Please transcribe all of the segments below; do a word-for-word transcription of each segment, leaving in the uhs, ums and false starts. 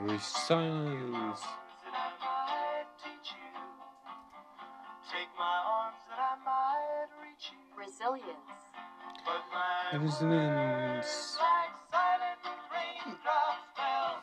Silence. That I might teach you. Take my arms that I might reach you. Resilience. But my Resilience. words like silent raindrops fell.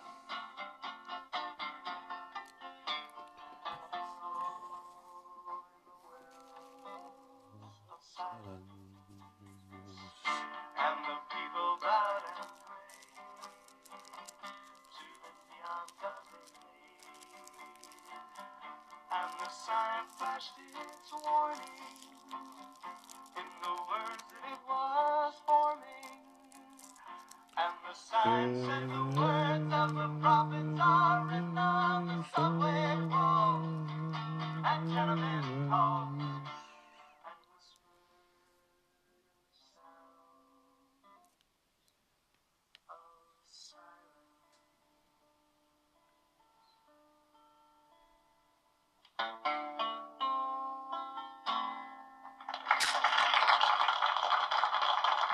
Of silence. And the people bowed and prayed to the neon god they made. And the sign flashed its warning in the words that it was forming. And the sign said the words of the prophets are written on the subway walls and tenement halls and whispered sounds of silence.